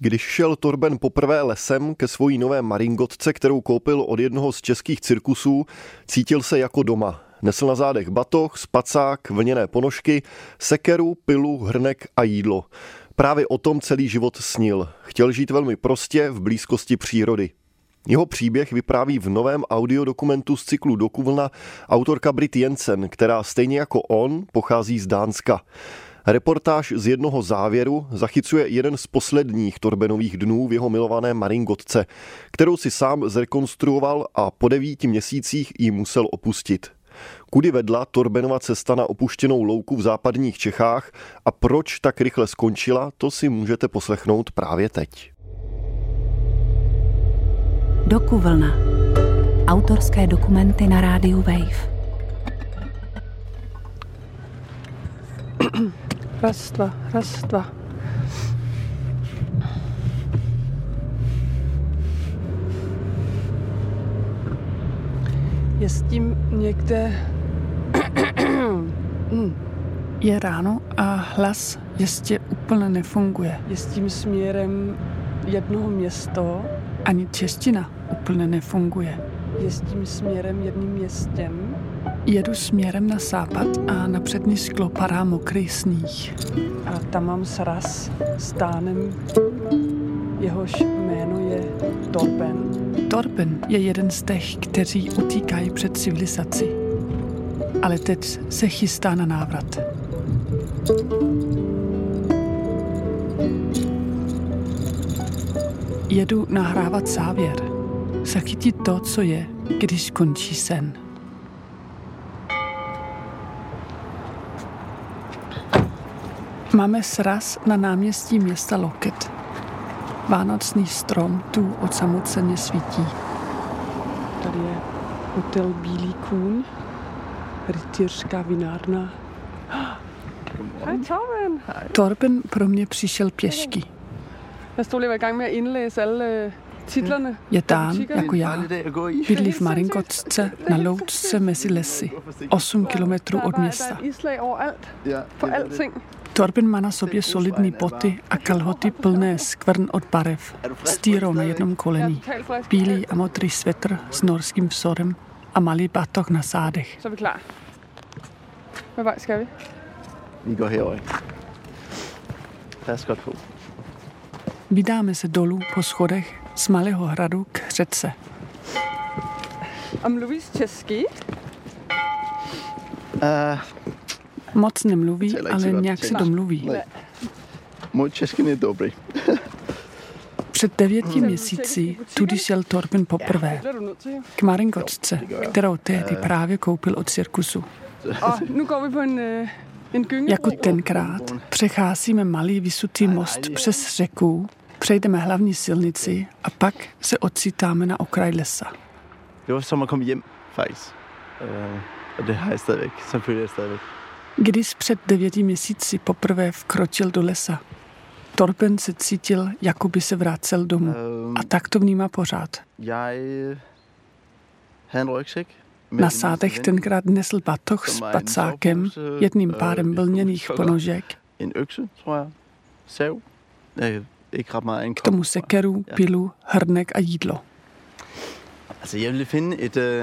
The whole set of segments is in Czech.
Když šel Torben poprvé lesem ke svojí nové maringotce, kterou koupil od jednoho z českých cirkusů, cítil se jako doma. Nesl na zádech batoh, spacák, vlněné ponožky, sekeru, pilu, hrnek a jídlo. Právě o tom celý život snil. Chtěl žít velmi prostě v blízkosti přírody. Jeho příběh vypráví v novém audiodokumentu z cyklu Dokuvlna autorka Britt Jensen, která stejně jako on pochází z Dánska. Reportáž z jednoho závěru zachycuje jeden z posledních Torbenových dnů v jeho milované maringotce, kterou si sám zrekonstruoval a po 9 měsících ji musel opustit. Kudy vedla Torbenova cesta na opuštěnou louku v západních Čechách a proč tak rychle skončila, to si můžete poslechnout právě teď. Dokuvlna. Autorské dokumenty na rádiu Wave. Raz, dva. Je s tím někde... Je ráno a hlas ještě úplně nefunguje. Je s tím směrem jednoho město. Ani čeština úplně nefunguje. Je s tím směrem jedním městem. Jedu směrem na západ a na přední sklo padá mokrý sníh. A tam mám sraz s tánem, jehož jméno je Torben. Torben je jeden z těch, kteří utíkají před civilizací. Ale teď se chystá na návrat. Jedu nahrávat závěr. Zachytit to, co je, když končí sen. Máme sraz na náměstí města Loket. Vánoční strom tu osamoceně svítí. Tady je hotel Bílý kůň, rytířská vinárna. Hej Torben! Torben pro mě přišel pěšky. Jeg stod lige og var i gang med at indlæse alle titlerne. Je Dán jako já. Bydlí v maringotce na loučce mezi lesy, 8 kilometrů od města. Torben má na sobě solidní boty a kalhoty plné skvrn od barev, s týrou na jednom koleni, bílý a modrý svetr s norským vzorem a malý batoh na zádech. Så er vi klar. Hvad vej skal vi? Vi går herover. Pas godt på. Vydáme se dolů po schodech z malého hradu k řece. Mluvíš česky? Moc nemluví, ale nějak si domluví. Můj česky je dobrý. Před 9 měsíci tudy šel Torben poprvé k maringotce, kterou tehdy právě koupil od cirkusu. Jako tenkrát přecházíme malý vysutý most přes řeku, přejdeme hlavní silnici a pak se ocitáme na okraj lesa. Det var som at komme hjem, faktisk. Og det har jeg stadigvæk. Sådan føler jeg stadigvæk. Když před 9 měsíci poprvé vkročil do lesa, Torben se cítil, jako by se vracel domů. A tak to vnímá pořád. Jeg havde en rygsæk. Na sádech tenkrát nesl batoh s pacákem, jedním párem vlněných ponožek. En økse, tror jeg. Sav. Ikke ret meget en K tomu sekeru, pilu, hrnek a jídlo. Altså, jeg ville finde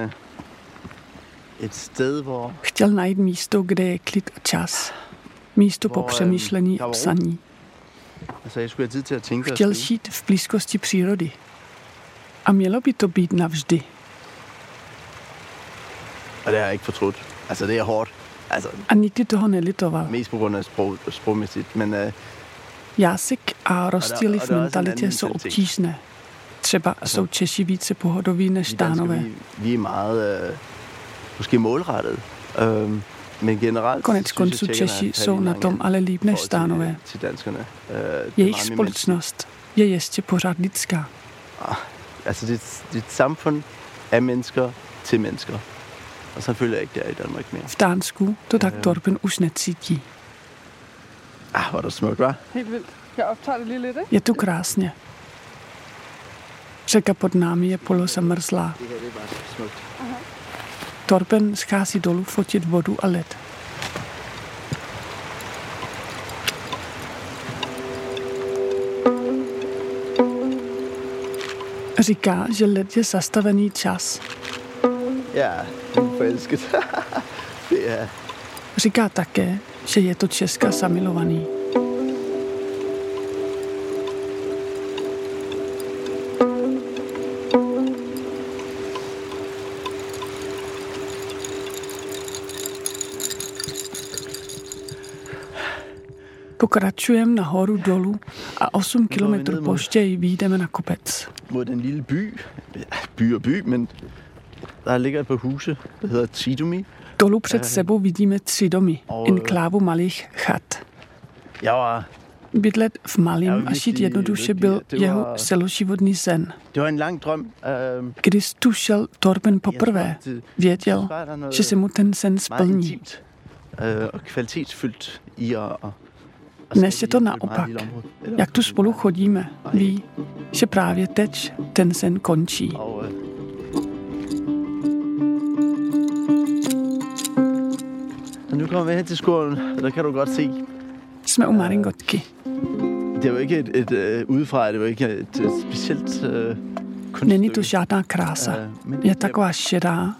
et sted, hvor... Chtěl najít místo, kde je klid a čas. Místo po přemýšlení a psaní. Altså, jeg skulle have tid til at tænke. Chtěl žít v blízkosti přírody. A mělo by to být navždy. Og det har jeg ikke fortrudt. Altså, det er hårdt. Altså, a nikdy toho nelitoval. Mest på grund af sprogmæssigt, men... Jazyk a rozdíly v mentalitě jsou obtížné. Třeba jsou Češi více pohodoví než Dánové. Vi er meget måske målrettet. Men generelt... Konec konců Češi jsou na tom ale líp než Dánové. Jejich společnost je ještě pořád lidská. Altså, det er et samfund af mennesker til mennesker. Og så føler jeg ikke, det er i Danmark mere. V Dánsku to tak Torben už necítí. Var det smukt, hva'? Helt vildt. Jeg optager det lige lidt, ikke? Je tu krásně. Řeka pod námi je polozamrzlá. Torben schází dolů fotit vodu a led. Říká, že led je zastavený čas. Ja, forelsket. Det er... Říká také, že je to Česka zamilovaný. Pokračujeme nahoru dolů a 8 kilometrů později vyjdeme na kopec. Mod den lille by. By og by, men der ligger et par huse, der hedder Tridomi. Dolů před sebou vidíme 3 domy, enklávu malých chat. Bydlet v malém a žít jednoduše byl jeho celoživotní sen. Když tu šel Torben poprvé, věděl, že se mu ten sen splní. Dnes je to naopak. Jak tu spolu chodíme, ví, že právě teď ten sen končí. Nu kommer vi hen til skolen, og der kan du godt se. Jsme u Maringotky. Det er jo ikke et udefra, det er jo ikke et specielt kunststykke. Není to žádná krása. Je taková šedá.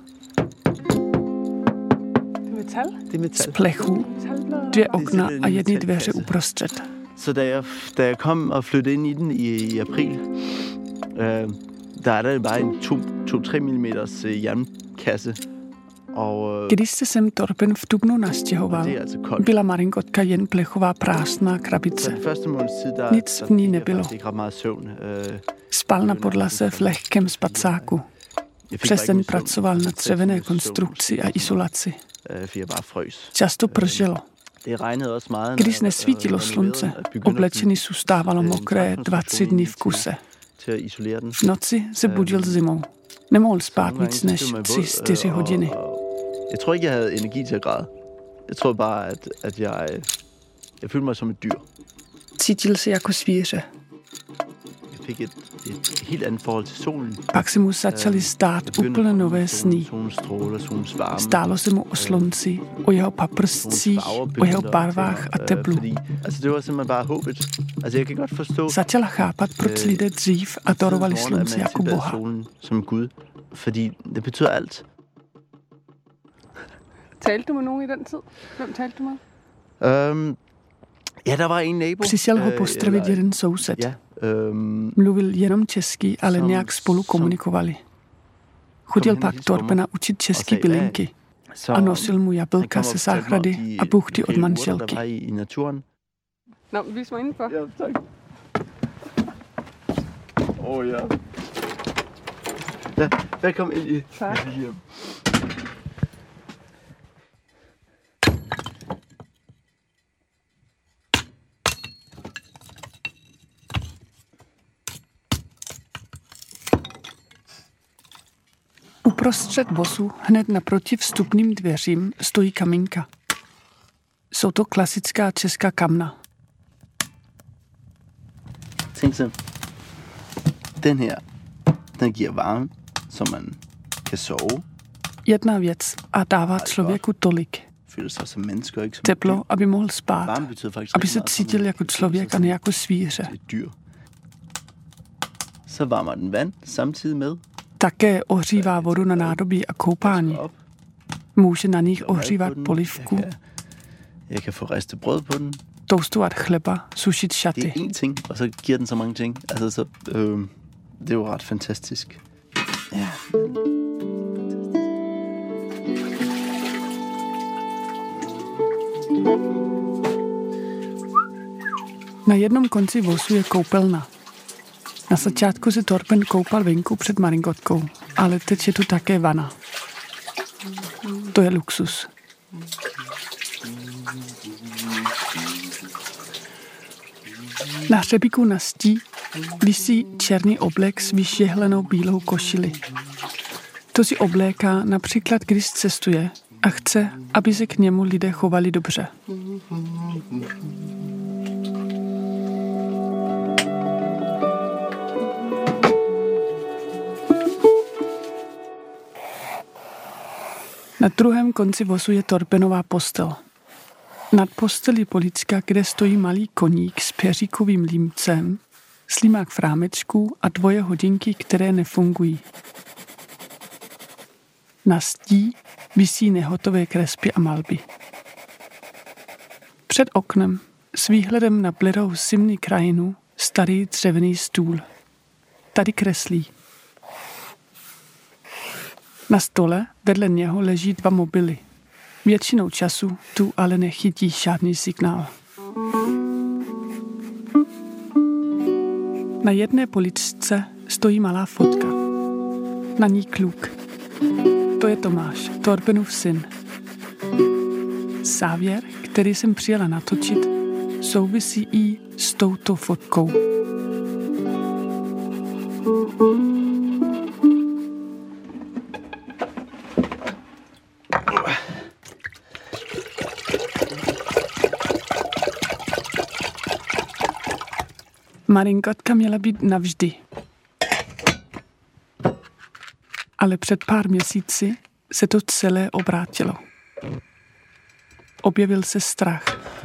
Z plechu, 2 okna a 1 dveře uprostřed. Så da jeg kom og flyttede ind i den i april, der er der bare en 2-3 mm jernkasse. Když se sem Torben v dubnu nastěhoval, byla Maringotka jen plechová prázdná krabice. Nic v ní nebylo. Spal na podlaze v lehkém spacáku. Přes den pracoval na dřevěné konstrukci a izolaci. Často pršelo. Když nesvítilo slunce, oblečení zůstávalo mokré 2-3 dny v kuse. V noci se budil zimou. Nemohl spát víc než 3-4 hodiny. Jeg tror ikke, jeg havde energi til at græde. Jeg tror bare, at jeg følte mig som et dyr. Cítil se jako zvíře. Jeg fik et helt andet forhold til solen. Pak se mu začaly stát úplně nové sny. Stálo se mu o slunci, o jeho paprscích, o jeho barvách a teplu. Det var simpelthen bare håbet. Jeg kan godt forstå... Začala chápat, proč lidé dřív adorovali slunce jako boha. Som Gud, fordi det betyder alt. Talte du med nogen i den tid? Hvem talte du med? Ja, der var en nabo. Přišel ho pozdravit jeden soused. Mluvil jenom česky, ale nějak spolu komunikovali. Chodil pak Torbena učit český bylinky a nosil mu jablka ze zahrady a buchty od manželky. Nå, vis mig indenfor. Ja, tak. Ja. Velkommen ind i. Tak. Uprostřed vozu, hned naproti vstupným dveřím, stojí kamínka. Jsou to klasická česká kamna. Tænk så, den her, den giver varme, så man kan sove. Jedna věc a dává člověku tolik. Teplo, aby mohl spát, aby se cítil jako člověk a ne jako zvíře. Så varmer den vand samtidig med. Také ohřívá vodu na nádobí a koupání. Může na nich ohřívat polivku, Jeg kan få ristet brød på den. toastovat chleba, sušit šaty. Det er én ting, og så giver den så mange ting. Altså, så, det er jo ret fantastisk. Ja. Na jednom konci vozu je koupelna. Na začátku se Torben koupal venku před Maringotkou, ale teď je tu také vana. To je luxus. Na hřebíku na zdí visí černý oblek s vyšěhlenou bílou košili. To si obléká například, když cestuje a chce, aby se k němu lidé chovali dobře. Na druhém konci vozu je Torbenová postel. Nad postelí polička, kde stojí malý koník s peříkovým límcem, slímák v rámečku a 2 hodinky, které nefungují. Na zdí visí nehotové kresby a malby. Před oknem s výhledem na bledou zimní krajinu starý dřevěný stůl. Tady kreslí. Na stole vedle něho leží 2 mobily. Většinou času tu ale nechytí žádný signál. Na jedné poličce stojí malá fotka. Na ní kluk. To je Tomáš, Torbenův syn. Závěr, který jsem přijela natočit, souvisí i s touto fotkou. Maringotka měla být navždy. Ale před pár měsíci se to celé obrátilo. Objevil se strach.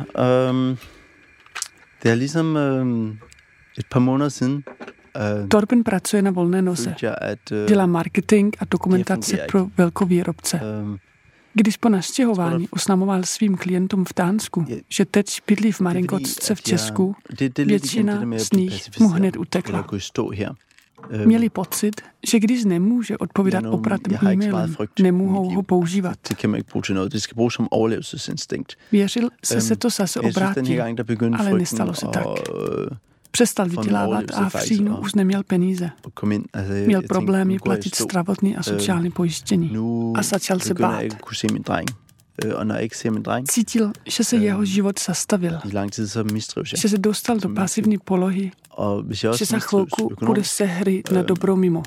Det er ligesom et par måneder siden. Torben pracuje na volné noze. Dělá marketing a dokumentace pro velkovýrobce. Když po nastěhování oznamoval svým klientům v Dánsku, že teď bydlí v Maringotce v Česku, většina z nich mu hned utekla. Měli pocit, že když nemůže odpovídat opratným e-mailem, nemohou ho používat. Věřil se to zase obrátí, ale nestalo se tak. Přestal vydělávat a v říjnu už neměl peníze. Měl problémy platit zdravotní a sociální pojištění a začal se bát. Cítil, že se jeho život zastavil, že se dostal do pasivní polohy, že za chvilku bude se hry na dobro mimo.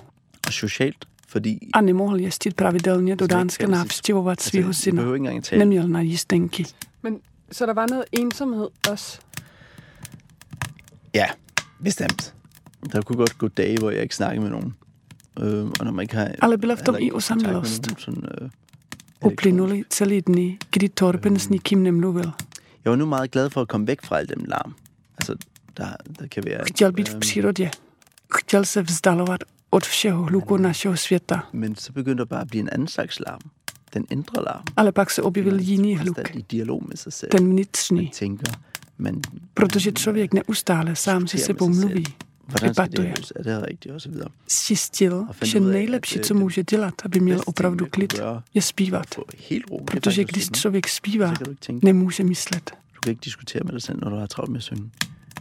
A nemohl jezdit pravidelně do Dánska navštěvovat svého syna. Neměl na jízdenky. Men så der var noget ensomhed også? Ja, bestemt. Der kunne godt gå dage, hvor jeg ikke snakkede med nogen. Og når man ikke har, ale byla v tom i osamělost. Uplynuli celý dny, kdy Torben s nikým nemluvil. Jeg var nu meget glad for at komme væk fra al den larm. Altså, der kan være... Chtěl být v přírodě. Chtěl se vzdalovat od všeho hluku našeho světa. Men så begyndte det bare at blive en anden slags larm. Den indre larm. Ale pak se objevil jiný hluk. Ten vnitřní. Protože člověk neustále sám se sebou mluví, debatuje. Zjistil, že nejlepší, co může dělat, aby měl opravdu klid, je zpívat. Protože když člověk zpívá, nemůže myslet. Du kan ikke diskutere med dig selv, når du har travlt med at synge.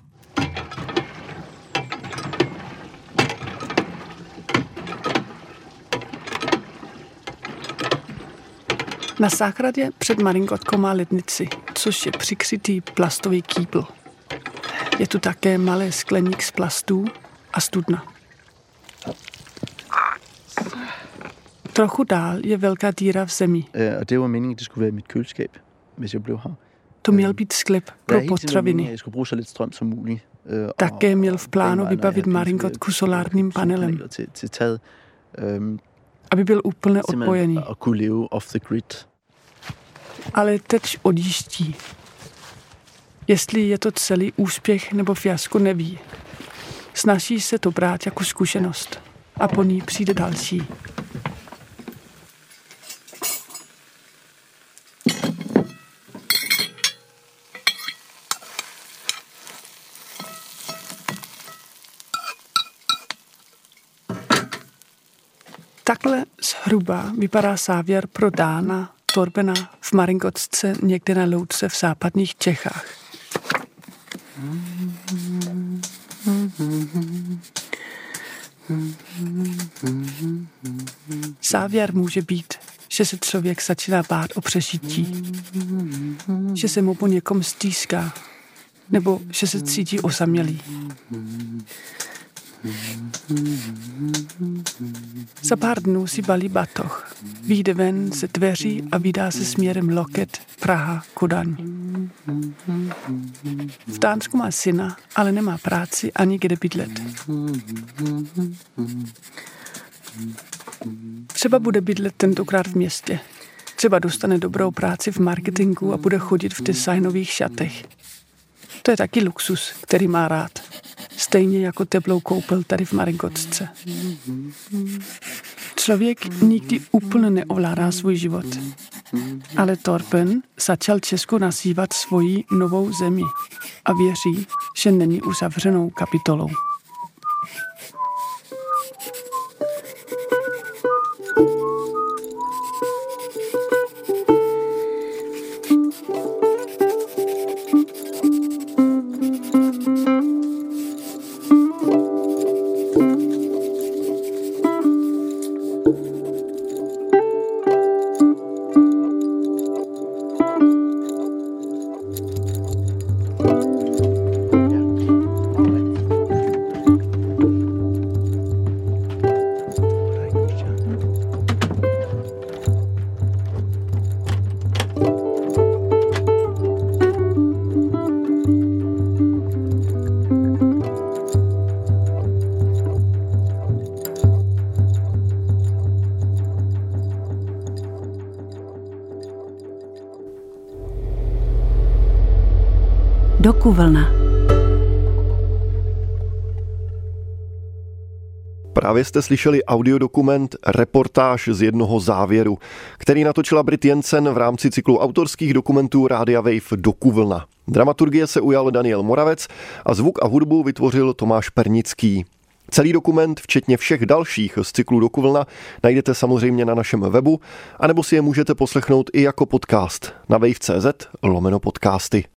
Na zahradě před Maringotkou má lednici, což je přikrytý plastový kýbl. Je tu také malé skleník z plastů a studna. Trochu dál je velká díra v zemi. Og det var meningen, at det skulle være mit køleskab, hvis jeg blev her. To měl být sklep pro potraviny. Jeg skulle bruge så lidt strøm som muligt. Také měl v plánu vybavit Maringotku solárním panelem, til taget. Aby byl úplně odpojený. At kunne leve off the grid. Ale teď odjíždí. Jestli je to celý úspěch nebo fiasko, neví. Snaží se to brát jako zkušenost a po ní přijde další. Takhle zhruba vypadá závěr pro Dána Torbena v Maringotce někde na louce v západních Čechách. Závěr může být, že se člověk začíná bát o přežití, že se mu po někom stýská, nebo že se cítí osamělý. Za pár dnů si balí batoh, vyjde ven ze dveří a vydá se směrem Loket, Praha, Kodaň. V Dánsku má syna, ale nemá práci ani kde bydlet. Třeba bude bydlet tentokrát v městě. Třeba dostane dobrou práci v marketingu a bude chodit v designových šatech. To je taky luxus, který má rád. Stejně jako teplou koupel tady v Maringotce. Člověk nikdy úplně neovládá svůj život. Ale Torben začal Česku nazývat svoji novou zemi a věří, že není uzavřenou kapitolou. Dokuvlna. Právě jste slyšeli audiodokument Reportáž z jednoho závěru, který natočila Brit Jensen v rámci cyklu autorských dokumentů Rádia Wave Dokuvlna. Dramaturgie se ujal Daniel Moravec a zvuk a hudbu vytvořil Tomáš Pernický. Celý dokument, včetně všech dalších z cyklu Dokuvlna, najdete samozřejmě na našem webu, anebo si je můžete poslechnout i jako podcast na wave.cz/podcasty.